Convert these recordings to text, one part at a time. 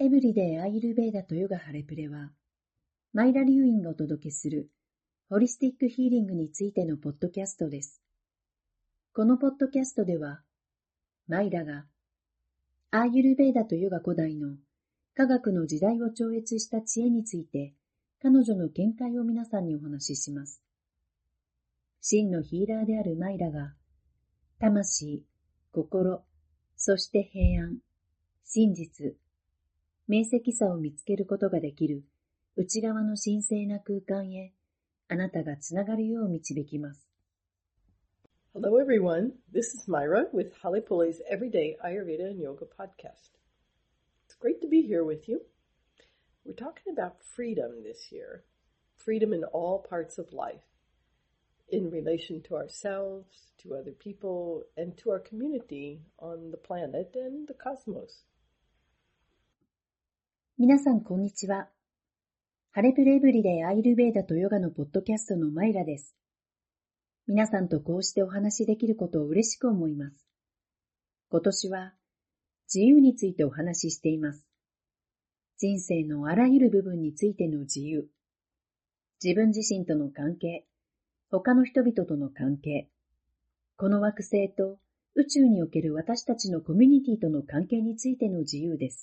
エブリデイアーユルヴェーダとヨガハレプレは、マイラ・リュウインがお届けするホリスティックヒーリングについてのポッドキャストです。このポッドキャストでは、マイラがアーユルヴェーダとヨガ古代の科学の時代を超越した知恵について、彼女の見解を皆さんにお話しします。真のヒーラーであるマイラが、魂、心、そして平安、真実、明晰さを見つけることができる内側の神聖な空間へ、あなたがつながるよう導きます。 Hello everyone, this is Myra with Halepole's Everyday Ayurveda and Yoga podcast. It's great to be here with you. We're talking about freedom this year. Freedom in all parts of life. In relation to ourselves, to other people, and to our community on the planet and the cosmos. 皆さんこんにちは。ハレプレエブリデイアーユルヴェーダとヨガのポッドキャストのマイラです。皆さんとこうしてお話しできることを嬉しく思います。今年は自由についてお話ししています。人生のあらゆる部分についての自由。自分自身との関係、他の人々との関係、この惑星と宇宙における私たちのコミュニティとの関係についての自由です。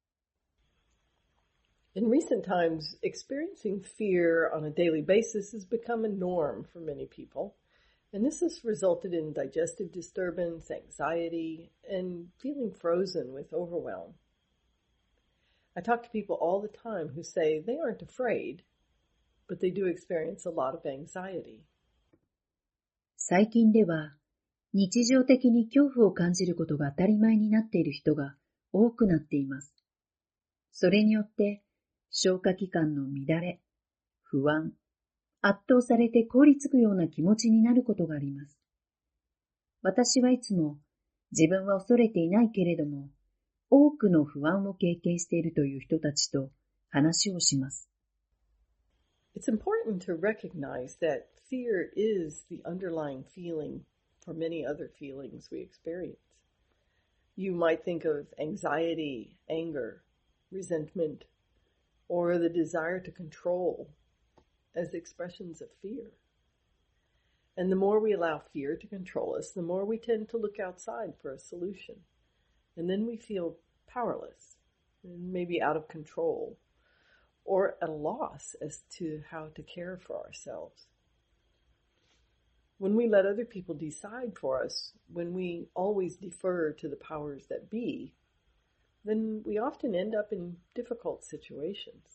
In recent times, experiencing fear on a daily basis has become a norm for many people, and this has resulted in digestive disturbance, anxiety, and feeling frozen with overwhelm. I talk to people all the time who say they aren't afraid, but they do experience a lot of anxiety. 最近では、日常的に恐怖を感じることが当たり前になっている人が多くなっています。それによって、消化器官の乱れ、不安、圧倒されて凍りつくような気持ちになることがあります。私はいつも自分は恐れていないけれども、多くの不安を経験しているという人たちと話をします。 It's important to recognize that fear is the underlying feeling for many other feelings we experience. You might think of anxiety, anger, resentment, or the desire to control as expressions of fear. And the more we allow fear to control us, the more we tend to look outside for a solution. And then we feel powerless, and maybe out of control, or at a loss as to how to care for ourselves. When we let other people decide for us, when we always defer to the powers that be, then we often end up in difficult situations.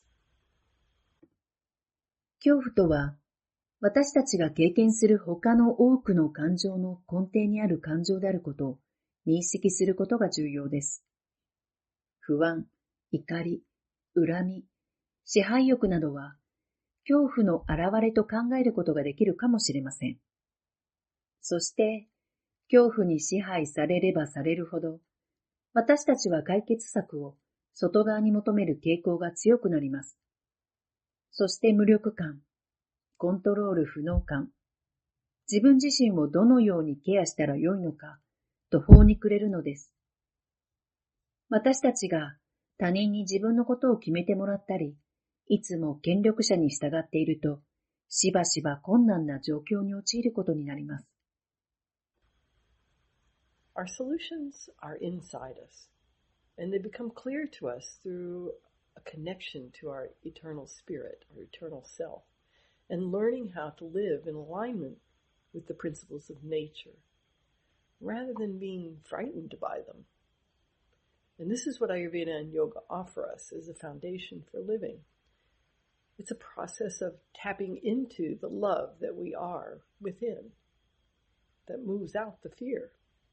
恐怖とは、私たちが経験する他の多くの感情の根底にある感情であることを認識することが重要です。不安、怒り、恨み、支配欲などは、恐怖の現れと考えることができるかもしれません。そして、恐怖に支配されればされるほど、私たちは解決策を外側に求める傾向が強くなります。そして無力感、コントロール不能感、自分自身をどのようにケアしたらよいのか、途方に暮れるのです。私たちが他人に自分のことを決めてもらったり、いつも権力者に従っていると、しばしば困難な状況に陥ることになります。 Our solutions are inside us, and they become clear to us through a connection to our eternal spirit, our eternal self, and learning how to live in alignment with the principles of nature, rather than being frightened by them. And this is what Ayurveda and yoga offer us as a foundation for living. It's a process of tapping into the love that we are within, that moves out the fear.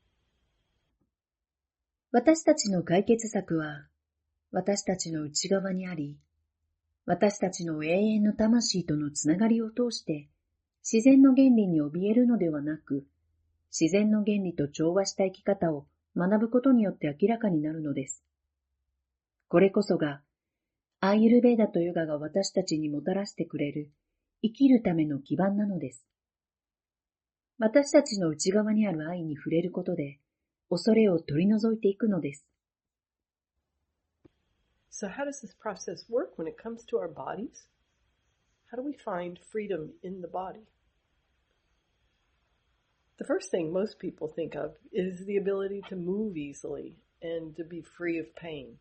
私たちの解決策は、私たちの内側にあり、私たちの永遠の魂とのつながりを通して、自然の原理に怯えるのではなく、自然の原理と調和した生き方を学ぶことによって明らかになるのです。これこそが、アーユルヴェーダとヨガが私たちにもたらしてくれる生きるための基盤なのです。私たちの内側にある愛に触れることで、恐れを取り除いていくのです。 So how does this process work when it comes to our bodies? How do we find freedom in the body? The first thing most people think of is the ability to move easily and to be free of pain.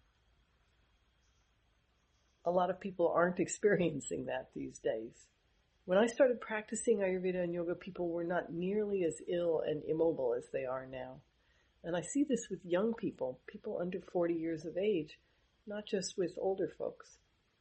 A lot of people aren't experiencing that these days. When I started practicing Ayurveda and yoga, people were not nearly as ill and immobile as they are now. And I see this with young people, people under 40 years of age, not just with older folks.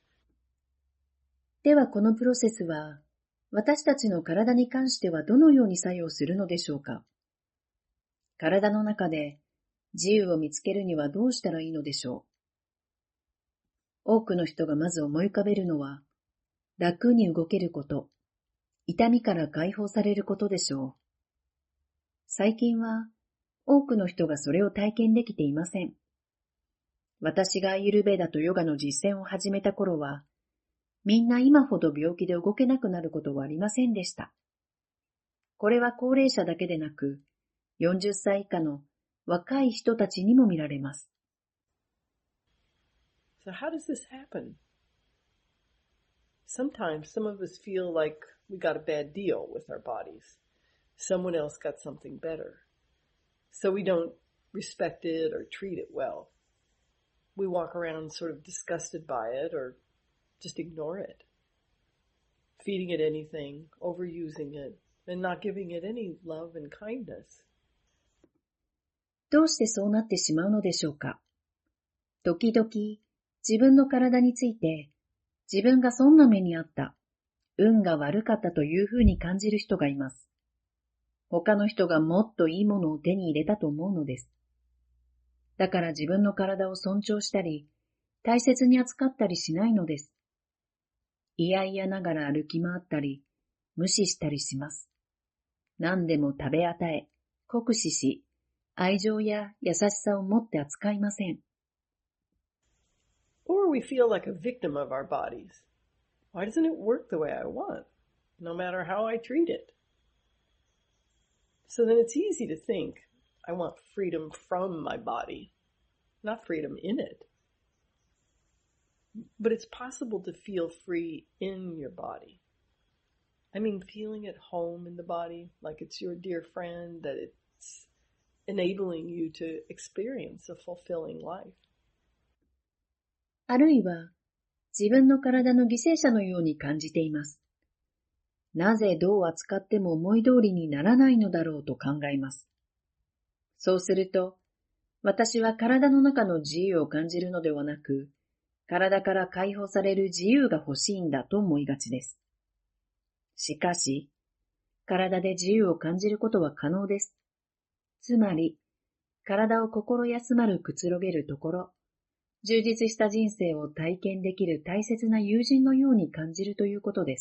ではこのプロセスは、私たちの体に関してはどのように作用するのでしょうか。体の中で自由を見つけるにはどうしたらいいのでしょう。多くの人がまず思い浮かべるのは、楽に動けること、痛みから解放されることでしょう。最近は多くの人がそれを体験できていません。私がアーユルヴェーダとヨガの実践を始めた頃は、みんな今ほど病気で動けなくなることはありませんでした。これは高齢者だけでなく、40歳以下の若い人たちにも見られます。 So how does this happen? Sometimes some of us feel like we got a bad deal with our bodies. Someone else got something better. So we don't respect it or treat it well. We walk around sort of disgusted by it or just ignore it, feeding it anything, overusing it, and not giving it any love and kindness. どうしてそうなってしまうのでしょうか。時々自分の体について自分が損な目にあった、運が悪かったというふうに感じる人がいます。他の人がもっといいものを手に入れたと思うのです。だから自分の体を尊重したり、大切に扱ったりしないのです。いやいやながら歩き回ったり、無視したりします。何でも食べ与え、酷使し、愛情や優しさを持って扱いません。 Or we feel like a victim of our bodies. Why doesn't it work the way I want, no matter how I treat it? So then it's easy to think, I want freedom from my body, not freedom in it. But it's possible to feel free in your body. I mean, feeling at home in the body, like it's your dear friend, that it's enabling you to experience a fulfilling life. あるいは、自分の体の犠牲者のように感じています。なぜどう扱っても思い通りにならないのだろうと考えます。そうすると、私は体の中の自由を感じるのではなく、体から解放される自由が欲しいんだと思いがちです。しかし、体で自由を感じることは可能です。つまり、体を心休まるくつろげるところ、充実した人生を体験できる大切な友人のように感じるということです。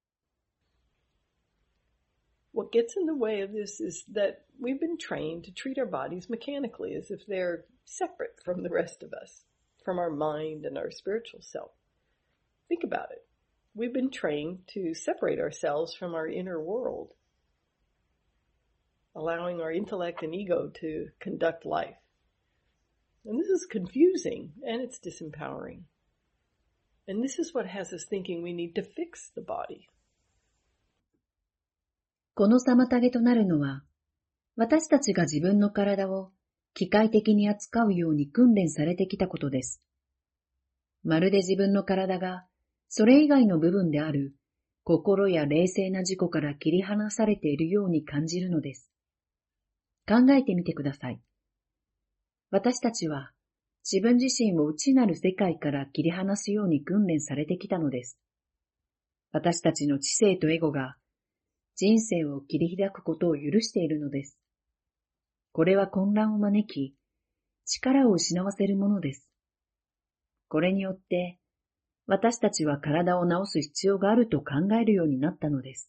What gets in the way of this is that we've been trained to treat our bodies mechanically as if they're separate from the rest of us, from our mind and our spiritual self. Think about it. We've been trained to separate ourselves from our inner world, allowing our intellect and ego to conduct life. And this is confusing and it's disempowering. And this is what has us thinking we need to fix the body. この妨げとなるのは、私たちが自分の体を機械的に扱うように訓練されてきたことです。まるで自分の体がそれ以外の部分である心や冷静な自己から切り離されているように感じるのです。考えてみてください。私たちは自分自身を内なる世界から切り離すように訓練されてきたのです。私たちの知性とエゴが人生を切り開くことを許しているのです。これは混乱を招き、力を失わせるものです。これによって、私たちは体を治す必要があると考えるようになったのです。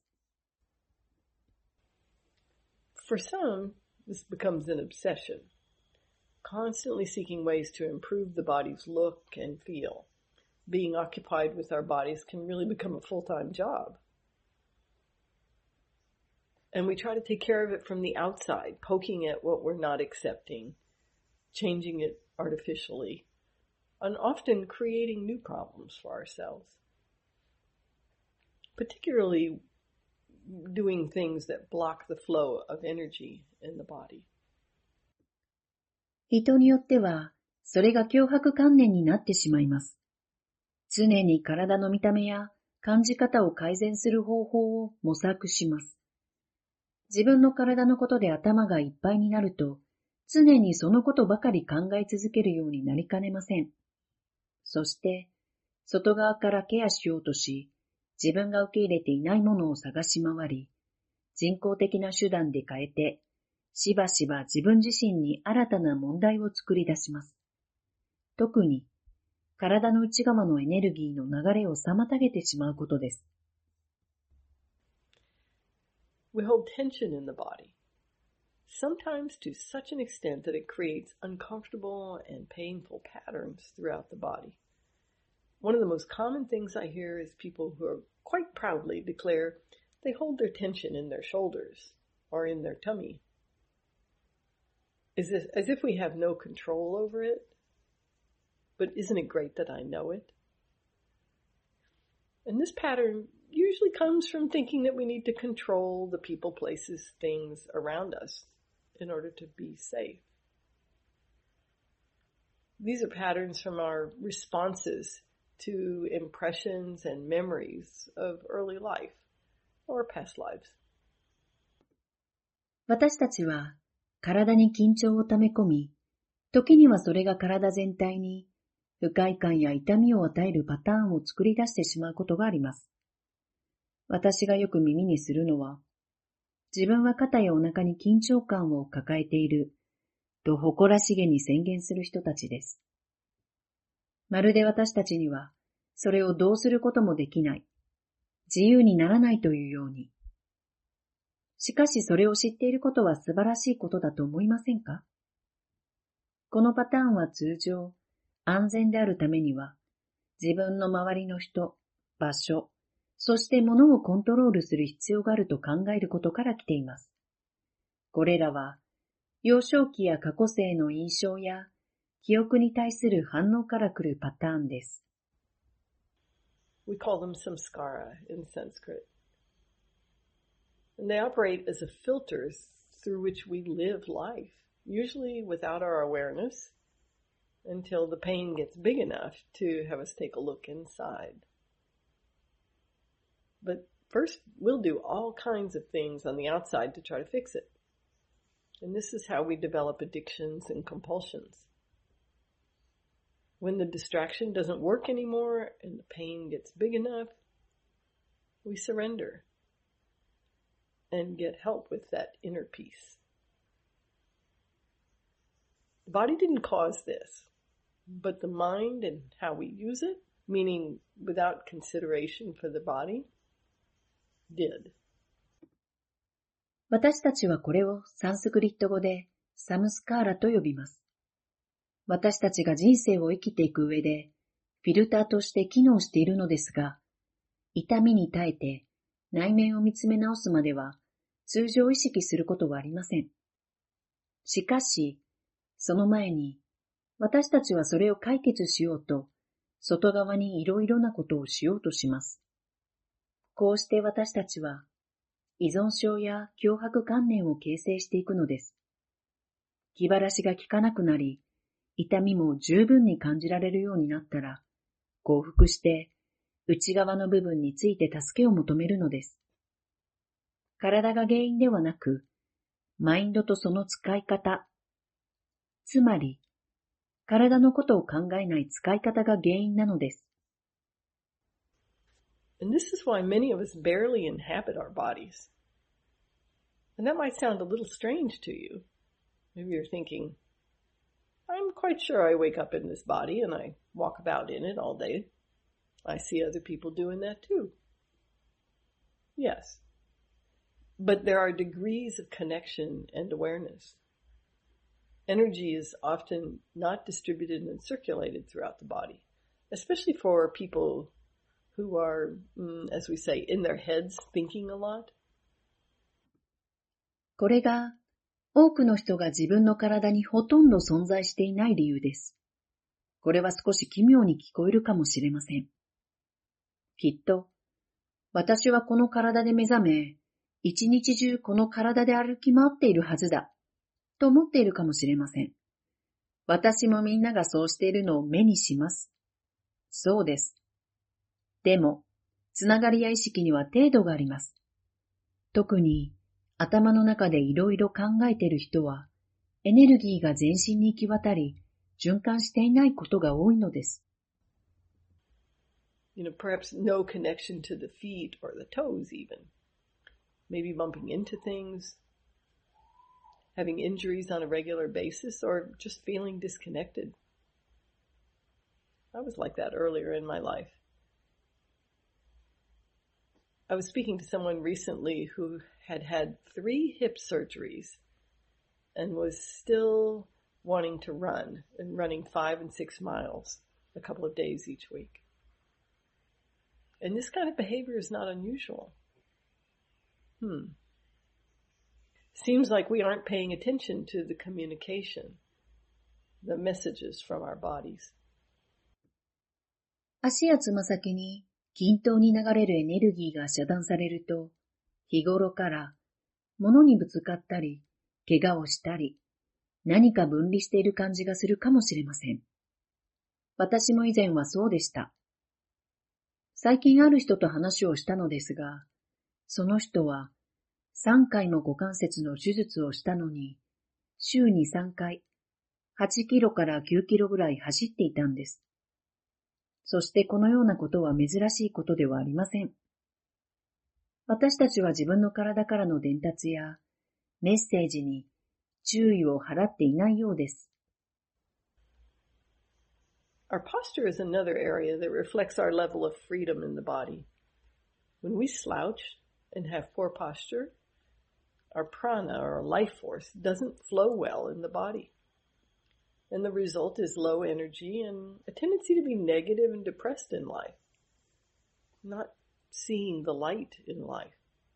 For some, this becomes an obsession, constantly seeking ways to improve the body's look and feel. Being occupied with our bodies can really become a full-time job. And we try to take care of it from the outside, poking at what we're not accepting, changing it artificially, and often creating new problems for ourselves, particularly doing things that block the flow of energy in the body. 人によっては、それが強迫観念になってしまいます。常に体の見た目や感じ方を改善する方法を模索します。自分の体のことで頭がいっぱいになると、常にそのことばかり考え続けるようになりかねません。そして、外側からケアしようとし、自分が受け入れていないものを探し回り、人工的な手段で変えて、しばしば自分自身に新たな問題を作り出します。特に、体の内側のエネルギーの流れを妨げてしまうことです。 We hold tension in the body, sometimes to such an extent that it creates uncomfortable and painful patterns throughout the body. One of the most common things I hear is people who are quite proudly declare they hold their tension in their shoulders or in their tummy. As if we have no control over it. But isn't it great that I know it? And this pattern usually comes from thinking that we need to control the people, places, things around us in order to be safe. These are patterns from our responses to impressions and memories of early life or past lives. 私たちは体に緊張を溜め込み、時にはそれが体全体に不快感や痛みを与えるパターンを作り出してしまうことがあります。私がよく耳にするのは、自分は肩やお腹に緊張感を抱えていると誇らしげに宣言する人たちです。まるで私たちにはそれをどうすることもできない、自由にならないというように。しかしそれを知っていることは素晴らしいことだと思いませんか？このパターンは通常、安全であるためには、自分の周りの人、場所、そして物をコントロールする必要があると考えることから来ています。これらは、幼少期や過去世の印象や記憶に対する反応から来るパターンです。 We call them samskara in Sanskrit. And they operate as a filter through which we live life, usually without our awareness, until the pain gets big enough to have us take a look inside. But first, we'll do all kinds of things on the outside to try to fix it. And this is how we develop addictions and compulsions. When the distraction doesn't work anymore and the pain gets big enough, we surrender and get help with that inner peace. The body didn't cause this, but the mind and how we use it, meaning without consideration for the body, did. 私たちはこれをサンスクリット語でサムスカーラと呼びます。私たちが人生を生きていく上でフィルターとして機能しているのですが、痛みに耐えて内面を見つめ直すまでは通常意識することはありません。しかし、その前に私たちはそれを解決しようと外側にいろいろなことをしようとします。こうして私たちは依存症や強迫観念を形成していくのです。気晴らしが効かなくなり、痛みも十分に感じられるようになったら、降伏して内側の部分について助けを求めるのです。体が原因ではなく、マインドとその使い方、つまり、体のことを考えない使い方が原因なのです。 And this is why many of us barely inhabit our bodies. And that might sound a little strange to you. Maybe you're thinking, I'm quite sure I wake up in this body and I walk about in it all day. I see other people doing that too. Yes. But there are degrees of connection and awareness. Energy is often not distributed and circulated throughout the body, especially for people who are, as we say, in their heads thinking a lot. これが多くの人が自分の体にほとんど存在していない理由です。 これは少し奇妙に聞こえるかもしれません。きっと、私はこの体で目覚め、一日中この体で歩き回っているはずだ、と思っているかもしれません。私もみんながそうしているのを目にします。そうです。でも、つながりや意識には程度があります。特に、頭の中でいろいろ考えている人は、エネルギーが全身に行き渡り、循環していないことが多いのです。 Perhaps no connection to the feet or the toes even. Maybe bumping into things, having injuries on a regular basis, or just feeling disconnected. I was like that earlier in my life. I was speaking to someone recently who had had 3 hip surgeries and was still wanting to run and running 5 and 6 miles a couple of days each week. And this kind of behavior is not unusual. Seems like we aren't paying attention to the communication, the messages from our bodies. 足やつま先に均等に流れるエネルギーが遮断されると、日頃から物にぶつかったり、怪我をしたり、何か分離している感じがするかもしれません。私も以前はそうでした。最近ある人と話をしたのですが、その人は3回も股関節の手術をしたのに、週に3回、8キロから9キロぐらい走っていたんです。そしてこのようなことは珍しいことではありません。私たちは自分の体からの伝達やメッセージに注意を払っていないようです。 Our posture is another area that reflects our level of freedom in the body. When we slouch and have poor posture, our prana, or life force, doesn't flow well in the body. And the result is low energy and a tendency to be negative and depressed in life, not seeing the light in life.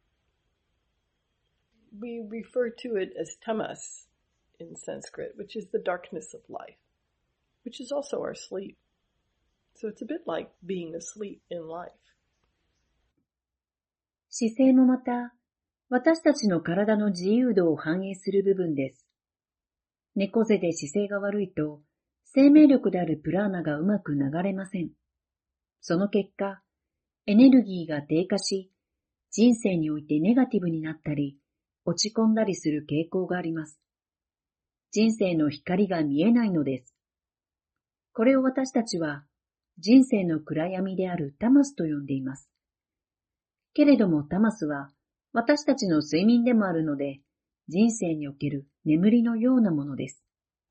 We refer to it as tamas in Sanskrit, which is the darkness of life, which is also our sleep. So it's a bit like being asleep in life. 姿勢もまた、私たちの体の自由度を反映する部分です。猫背で姿勢が悪いと、生命力であるプラーナがうまく流れません。その結果、エネルギーが低下し、人生においてネガティブになったり、落ち込んだりする傾向があります。人生の光が見えないのです。これを私たちは、人生の暗闇であるタマスと呼んでいます。けれどもタマスは、私たちの睡眠でもあるので、人生における眠りのようなものです。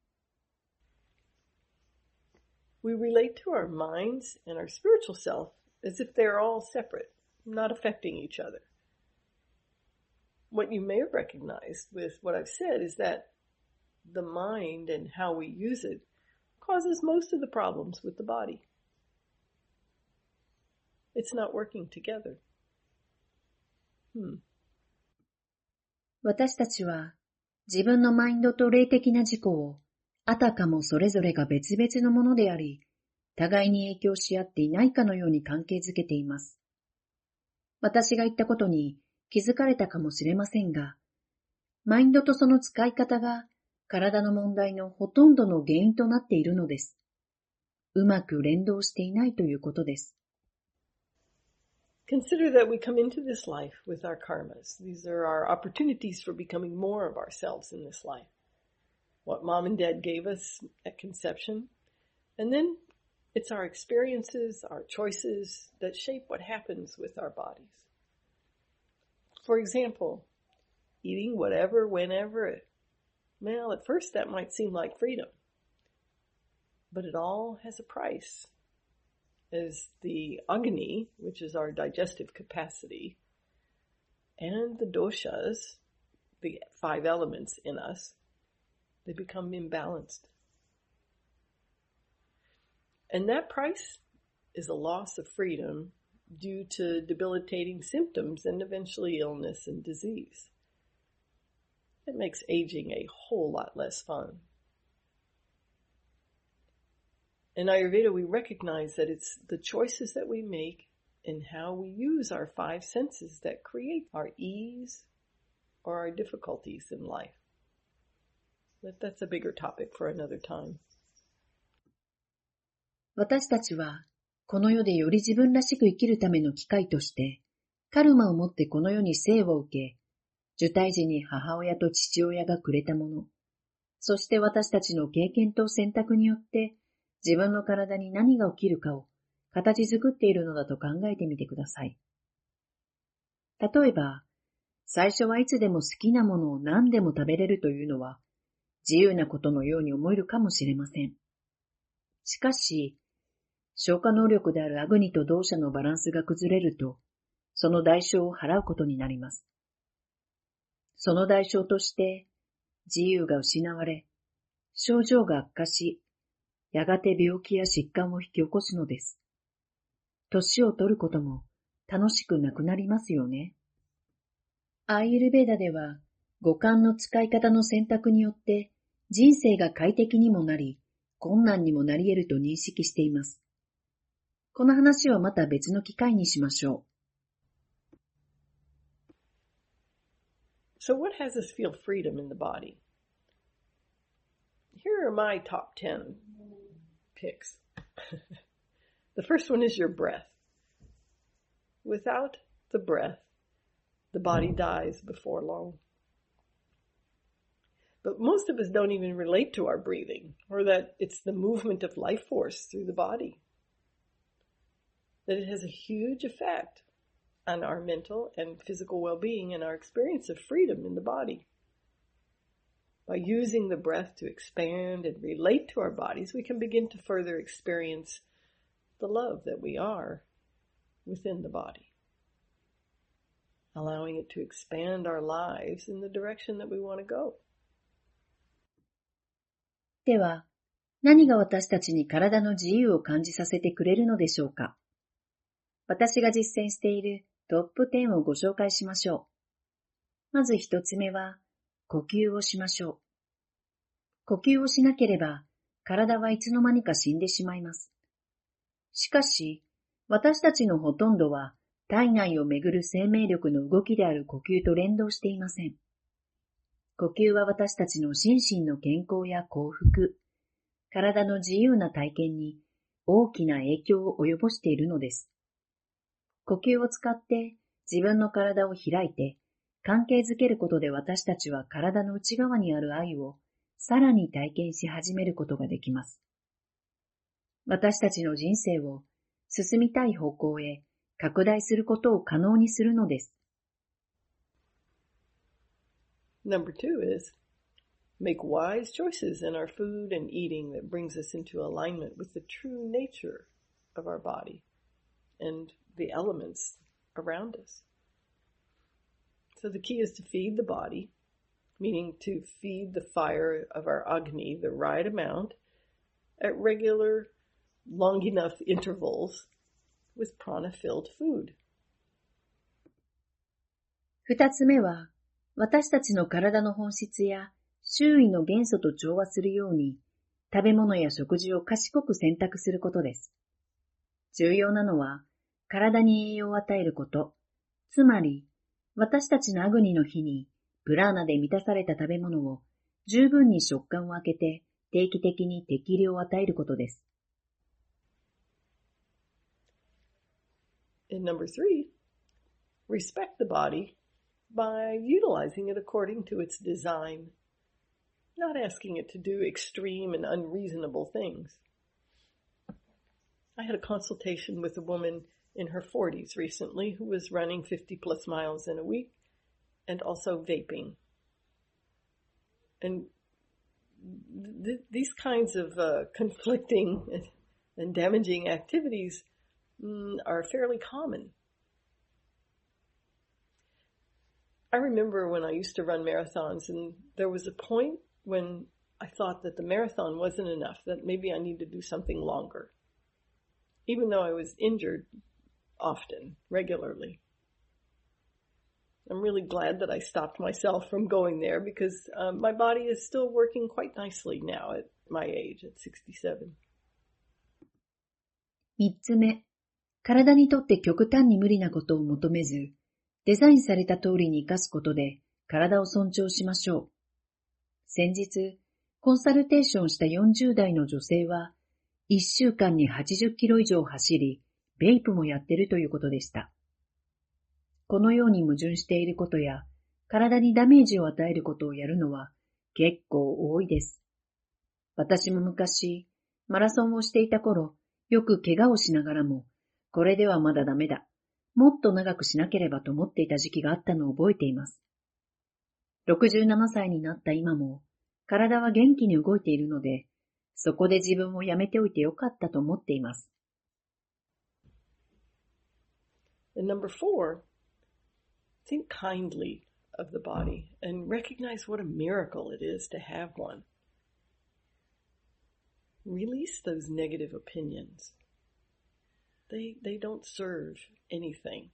We relate to our minds and our spiritual self as if they are all separate, not affecting each other. What you may have recognized with what I've said is that the mind and how we use it causes most of the problems with the body. It's not working together. 私たちは自分のマインドと霊的な自己をあたかもそれぞれが別々のものであり、互いに影響し合っていないかのように関係づけています。私が言ったことに気づかれたかもしれませんが、マインドとその使い方が体の問題のほとんどの原因となっているのです。うまく連動していないということです。 Consider that we come into this life with our karmas. These are our opportunities for becoming more of ourselves in this life. What mom and dad gave us at conception. And then it's our experiences, our choices that shape what happens with our bodies. For example, eating whatever, whenever. Well, at first that might seem like freedom. But it all has a price. As the Agni, which is our digestive capacity, and the doshas, the 5 elements in us, they become imbalanced. And that price is a loss of freedom due to debilitating symptoms and eventually illness and disease. It makes aging a whole lot less fun. In Ayurveda, we recognize that it's the choices that we make and how we use our five senses that create our ease or our difficulties in life. But that's a bigger topic for another time. 私たちは、この世でより自分らしく生きるための機会として、カルマをもってこの世に生を受け、受胎時に母親と父親がくれたもの、そして私たちの経験と選択によって自分の体に何が起きるかを形作っているのだと考えてみてください。例えば、最初はいつでも好きなものを何でも食べれるというのは自由なことのように思えるかもしれません。しかし、消化能力であるアグニと同社のバランスが崩れると、その代償を払うことになります。その代償として、自由が失われ、症状が悪化し、やがて病気や疾患を引き起こすのです。年を取ることも楽しくなくなりますよね。アーユルヴェーダでは、五感の使い方の選択によって人生が快適にもなり、困難にもなり得ると認識しています。この話はまた別の機会にしましょう。 So what has us feel freedom in the body? Here are my top 10 picks. The first one is your breath. Without the breath, the body dies before long. But most of us don't even relate to our breathing, or that it's the movement of life force through the body. That it has a huge effect on our mental and physical well-being and our experience of freedom in the body. By using the breath to expand and relate to our bodies, we can begin to further experience the love that we are within the body, allowing it to expand our lives in the direction that we want to go. では、何が私たちに体の自由を感じさせてくれるのでしょうか。私が実践しているトップ10をご紹介しましょう。まず一つ目は、呼吸をしましょう。呼吸をしなければ、体はいつの間にか死んでしまいます。しかし、私たちのほとんどは、体内をめぐる生命力の動きである呼吸と連動していません。呼吸は私たちの心身の健康や幸福、体の自由な体験に大きな影響を及ぼしているのです。呼吸を使って自分の体を開いて関係づけることで私たちは体の内側にある愛をさらに体験し始めることができます。私たちの人生を進みたい方向へ拡大することを可能にするのです。 Number 2 is make wise choices in our food and eating that brings us into alignment with the true nature of our body and the elements around us. So the key is to feed the body, meaning to feed the fire of our Agni the right amount at regular, long enough intervals with prana-filled food. 二つ目は、私たちの体の本質や周囲の元素と調和するように、食べ物や食事を賢く選択することです。重要なのは、体に栄養を与えること、つまり、私たちのアグニの日に、プラーナで満たされた食べ物を十分に食感を空けて定期的に適量を与えることです。 And number 3, respect the body by utilizing it according to its design, not asking it to do extreme and unreasonable things. I had a consultation with a woman in her 40s recently who was running 50 plus miles in a week and also vaping. And these kinds of conflicting and damaging activities are fairly common. I remember when I used to run marathons, and there was a point when I thought that the marathon wasn't enough, that maybe I need to do something longer, even though I was injured often, regularly. I'm really glad that I stopped myself from going there because my body is still working quite nicely now at my age, at 67. 三つ目、体にとって極端に無理なことを求めず、デザインされた通りに生かすことで体を尊重しましょう。先日、コンサルテーションした40代の女性は、1週間に80キロ以上走り、ベイプもやってるということでした。このように矛盾していることや、体にダメージを与えることをやるのは結構多いです。私も昔、マラソンをしていた頃、よく怪我をしながらも、これではまだダメだ。もっと長くしなければと思っていた時期があったのを覚えています。67歳になった今も、体は元気に動いているので、そこで自分をやめておいてよかったと思っています。 And number 4, think kindly of the body and recognize what a miracle it is to have one. Release those negative opinions. They don't serve anything.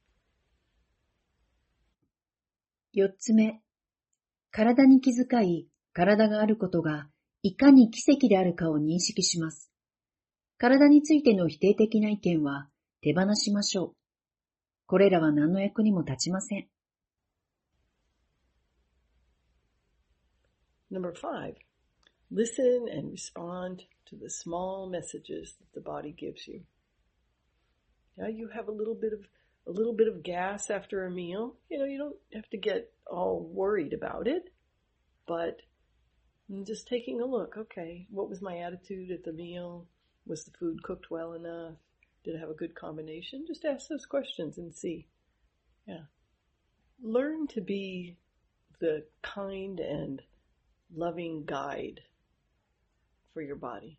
4つ目、体に気遣い、体があることがいかに奇跡であるかを認識します。体についての否定的な意見は手放しましょう。これらは何の役にも立ちません。 Number 5, listen and respond to the small messages that the body gives you. Now you have a little bit of gas after a meal. You don't have to get all worried about it, but just taking a look. Okay, what was my attitude at the meal? Was the food cooked well enough? Did it have a good combination? Just ask those questions and see. Yeah. Learn to be the kind and loving guide for your body.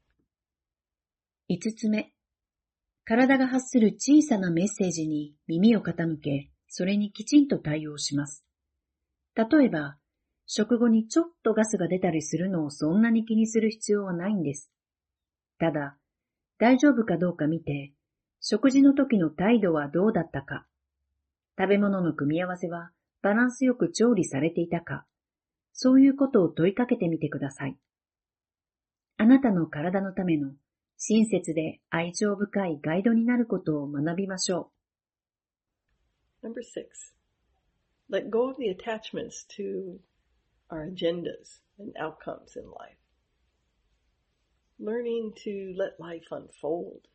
5つ目、体が発する小さなメッセージに耳を傾け、それにきちんと対応します。例えば、食後にちょっとガスが出たりするのをそんなに気にする必要はないんです。ただ、大丈夫かどうか見て、食事の時の態度はどうだったか、食べ物の組み合わせはバランスよく調理されていたか、そういうことを問いかけてみてください。あなたの体のための親切で愛情深いガイドになることを学びましょう。Number 6. Let go of the attachments to our agendas and outcomes in life. Learning to let life unfold.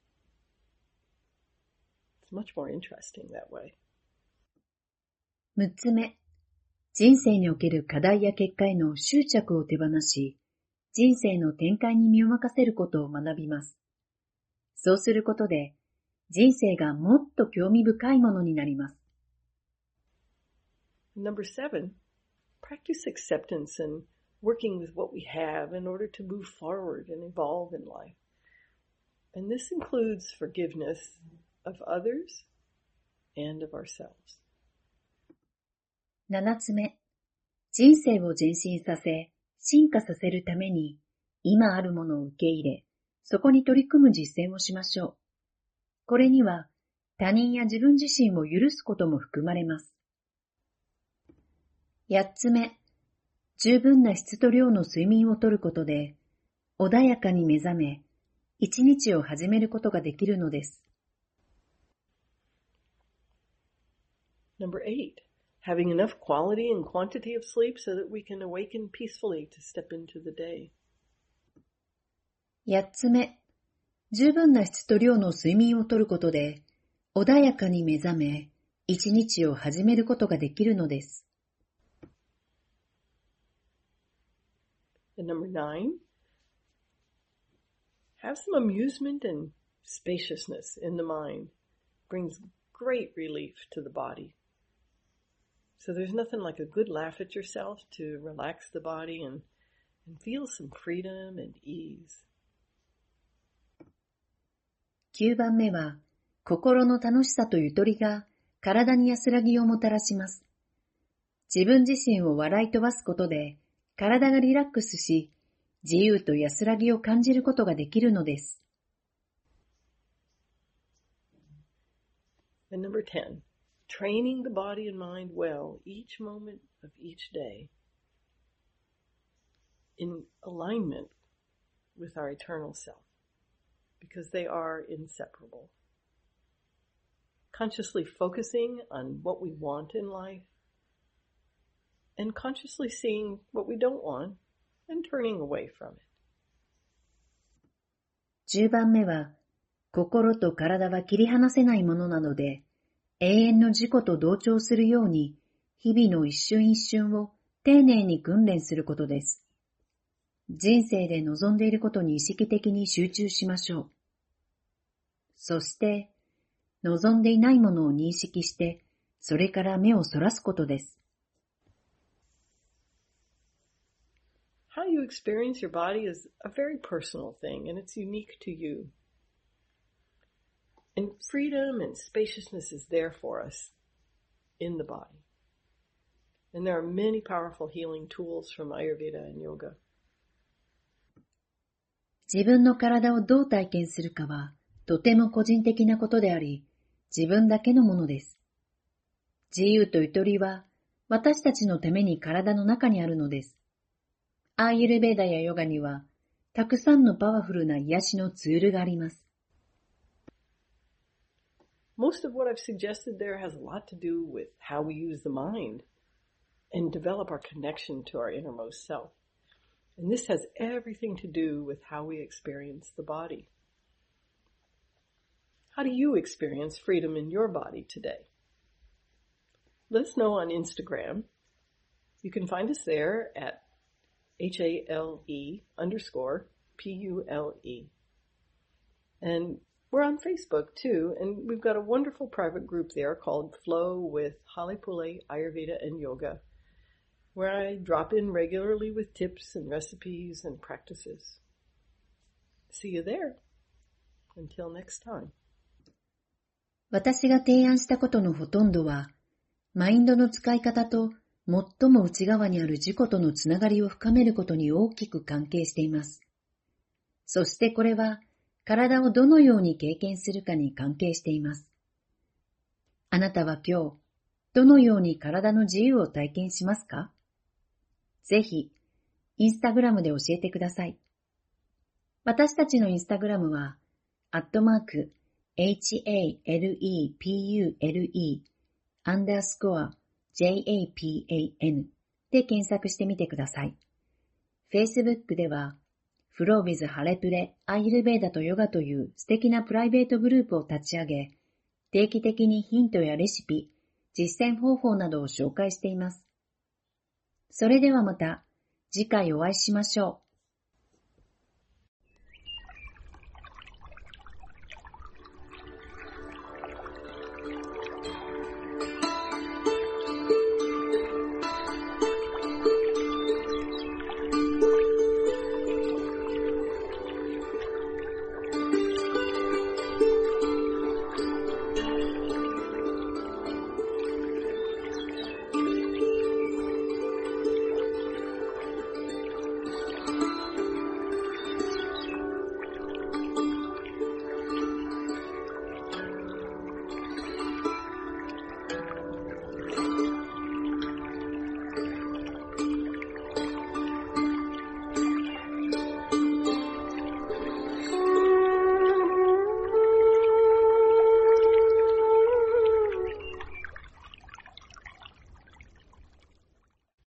It's much more interesting that way. 6つ目、人生における課題や結果への執着を手放し、人生の展開に身を任せることを学びます。そうすることで、人生がもっと興味深いものになります。 Number 7, practice acceptance and working with what we have in order to move forward and evolve in life. And this includes forgiveness of others and of ourselves. 7つ目、人生を前進させ、進化させるために、今あるものを受け入れ、そこに取り組む実践をしましょう。これには、他人や自分自身を許すことも含まれます。8つ目、十分な質と量の睡眠をとることで、穏やかに目覚め、一日を始めることができるのです。 Number 8, having enough quality and quantity of sleep so that we can awaken peacefully to step into the day. 8つ目、十分な質と量の睡眠をとることで、穏やかに目覚め、一日を始めることができるのです。 And number 9, have some amusement and spaciousness in the mind. Brings great relief to the body. So there's nothing like a good laugh at yourself to relax the body and feel some freedom and ease. 9番目は、心の楽しさとゆとりが体に安らぎをもたらします。自分自身を笑い飛ばすことで、体がリラックスし、自由と安らぎを感じることができるのです。 And number 10, training the body and mind well each moment of each day in alignment with our eternal self. because they are inseparable. Consciously focusing on what we want in life and consciously seeing what we don't want and turning away from it. 10番目は、心と体は切り離せないものなので、永遠の自己と同調するように、日々の一瞬一瞬を丁寧に訓練することです。人生で望んでいることに意識的に集中しましょう。そして、望んでいないものを認識して、それから目をそらすことです。 How you experience your body is a very personal thing, and it's unique to you. And freedom and spaciousness is there for us in the body. And there are many powerful healing tools from Ayurveda and yoga. 自分の体をどう体験するかは、とても個人的なことであり、自分だけのものです。自由とゆとりは、私たちのために体の中にあるのです。アーユルヴェーダやヨガには、たくさんのパワフルな癒しのツールがあります。 Most of what I've suggested there has a lot to do with how we use the mind and develop our connection to our innermost self. And this has everything to do with how we experience the body. How do you experience freedom in your body today? Let us know on Instagram. You can find us there at HALE_PULE. And we're on Facebook too, and we've got a wonderful private group there called Flow with Holly Pule, Ayurveda and Yoga, where I drop in regularly with tips and recipes and practices. See you there. Until next time. 私が提案したことのほとんどは、マインドの使い方と最も内側にある自己とのつながりを深めることに大きく関係しています。そしてこれは、体をどのように経験するかに関係しています。あなたは今日、どのように体の自由を体験しますか？ぜひ、インスタグラムで教えてください。私たちのインスタグラムは、@HALEPULE_JAPAN で検索してみてください。Facebook では、フロービズハレプレアイルベーダとヨガという素敵なプライベートグループを立ち上げ、定期的にヒントやレシピ、実践方法などを紹介しています。それではまた次回お会いしましょう。